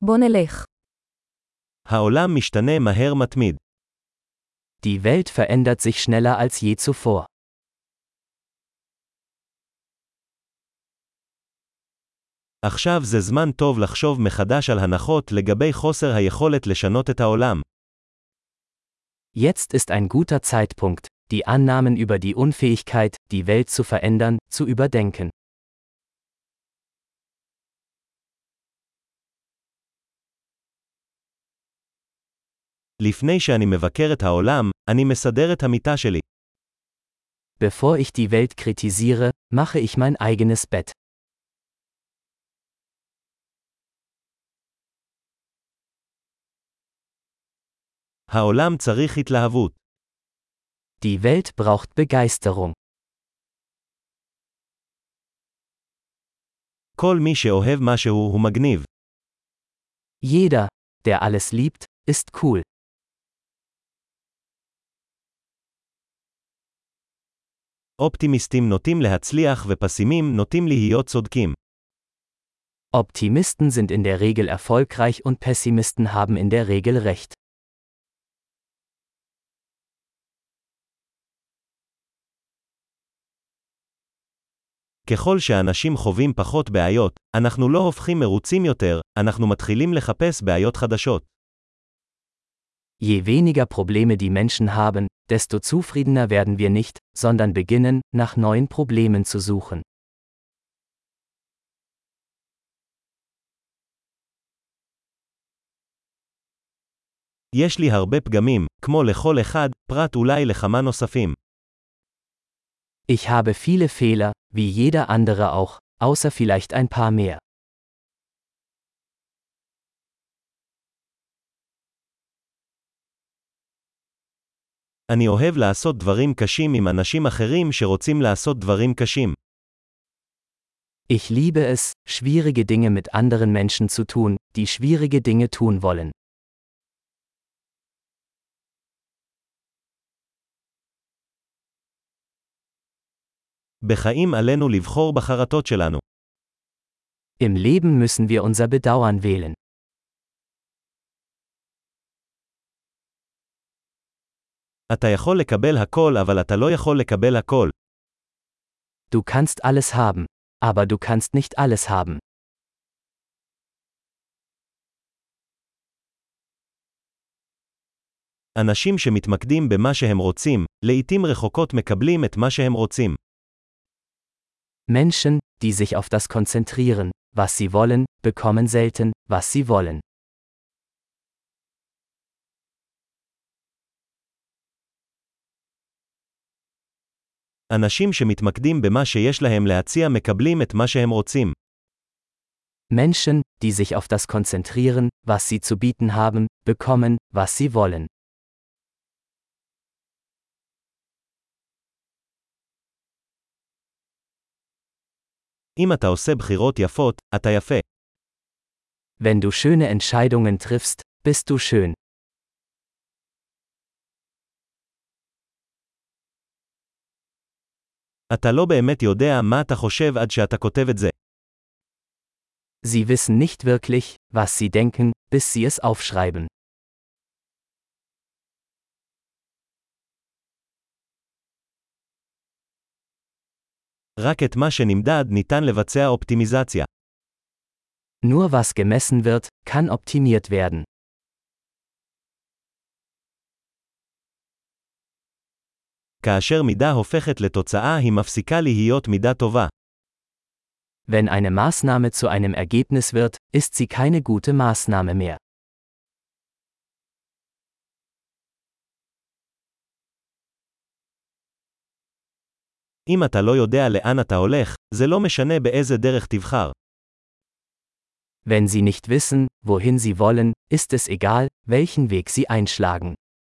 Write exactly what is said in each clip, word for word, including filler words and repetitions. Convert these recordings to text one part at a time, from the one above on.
בוא נלך. העולם משתנה מהר מתמיד. Die Welt verändert sich schneller als je zuvor. עכשיו זה זמן טוב לחשוב מחדש על הנחות לגבי חוסר היכולת לשנות את העולם. Jetzt ist ein guter Zeitpunkt, die Annahmen über die Unfähigkeit, die Welt zu verändern, zu überdenken. לפני שאני מבקר את העולם, אני מסדר את המיטה שלי. Bevor ich die Welt kritisiere, mache ich mein eigenes Bett. העולם צריך התלהבות. Die Welt braucht Begeisterung. כל מי שאוהב משהו הוא מגניב. Jeder, der alles liebt, ist cool. אופטימיסטים נוטים להצליח ופסימים נוטים להיות צודקים. Optimisten sind in der Regel erfolgreich und Pessimisten haben in der Regel recht. ככל שאנשים חווים פחות בעיות, אנחנו לא הופכים מרוצים יותר, אנחנו מתחילים לחפש בעיות חדשות. Je weniger Probleme die Menschen haben, desto zufriedener werden wir nicht, sondern beginnen, nach neuen Problemen zu suchen. יש לי הרבה פגמים, כמו לכל אחד, פרט אולי לכמה נוספים. Ich habe viele Fehler, wie jeder andere auch, außer vielleicht ein paar mehr. אני אוהב לעשות דברים קשים עם אנשים אחרים שרוצים לעשות דברים קשים. Ich liebe es, schwierige Dinge mit anderen Menschen zu tun, die schwierige Dinge tun wollen. בחיים עלינו לבחור בחרטות שלנו. Im Leben müssen wir unser Bedauern wählen. אתה יכול לקבל הכל אבל אתה לא יכול לקבל הכל. Du kannst alles haben, aber du kannst nicht alles haben. אנשים שמתמקדים במה שהם רוצים, לעתים רחוקות מקבלים את מה שהם רוצים. Menschen, die sich auf das konzentrieren, was sie wollen, bekommen selten, was sie wollen. אנשים שמתמקדים במה שיש להם להציע מקבלים את מה שהם רוצים. Menschen, die sich auf das konzentrieren, was sie zu bieten haben, bekommen, was sie wollen. אם אתה עושה בחירות יפות, אתה יפה. Wenn du schöne Entscheidungen triffst, bist du schön. אתה לא באמת יודע מה אתה חושב עד שאתה כותב את זה. Sie wissen nicht wirklich, was sie denken, bis sie es aufschreiben. רק את מה שנמדד ניתן לבצע אופטימיזציה. Nur was gemessen wird, kann optimiert werden. כאשר מידה הופכת לתוצאה היא מפסיקה להיות מידה טובה. Wenn eine Maßnahme zu einem Ergebnis wird, ist sie keine gute Maßnahme mehr. אם אתה לא יודע לאן אתה הולך, זה לא משנה באיזה דרך תבחר. Wenn sie nicht wissen, wohin sie wollen, ist es egal, welchen Weg sie einschlagen.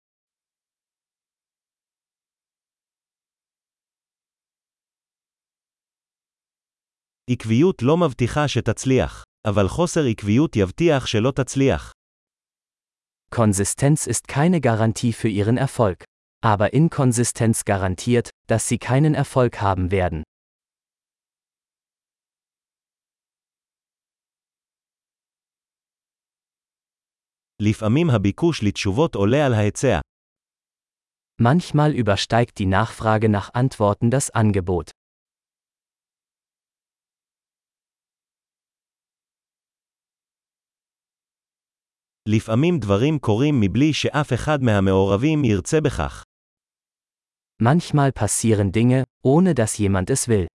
עקביות לא מבטיחה שתצליח, אבל חוסר עקביות יבטיח שלא תצליח. Konsistenz ist keine Garantie für ihren Erfolg. Aber Inkonsistenz garantiert, dass sie keinen Erfolg haben werden. לפעמים הביקוש לתשובות עולה על ההיצע. Manchmal übersteigt die Nachfrage nach Antworten das Angebot. לפעמים דברים קורים מבלי שאף אחד מהמעורבים ירצה בכך. Manchmal passieren Dinge, ohne dass jemand es will.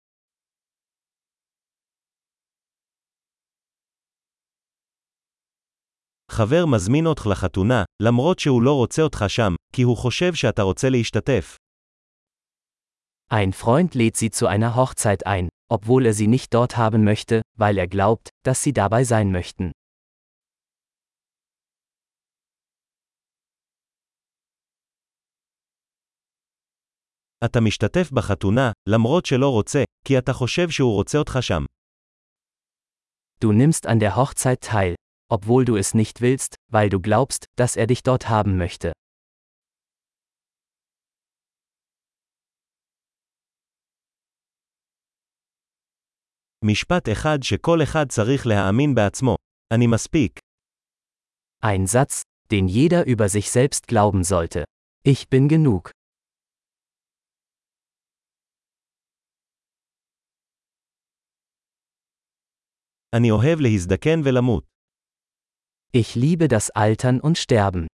חבר מזמין אותך לחתונה, למרות שהוא לא רוצה אותך שם, כי הוא חושב שאתה רוצה להשתתף. Ein Freund lädt sie zu einer Hochzeit ein, obwohl er sie nicht dort haben möchte, weil er glaubt, dass sie dabei sein möchten. אתה משתתף בחתונה, למרות שלא רוצה, כי אתה חושב שהוא רוצה אותך שם. Du nimmst an der Hochzeit teil, obwohl du es nicht willst, weil du glaubst, dass er dich dort haben möchte. משפט אחד שכל אחד צריך להאמין בעצמו. אני מספיק. Ein Satz, den jeder über sich selbst glauben sollte. Ich bin genug. אני אוהב להזדקן ולמות. Ich liebe das Altern und Sterben.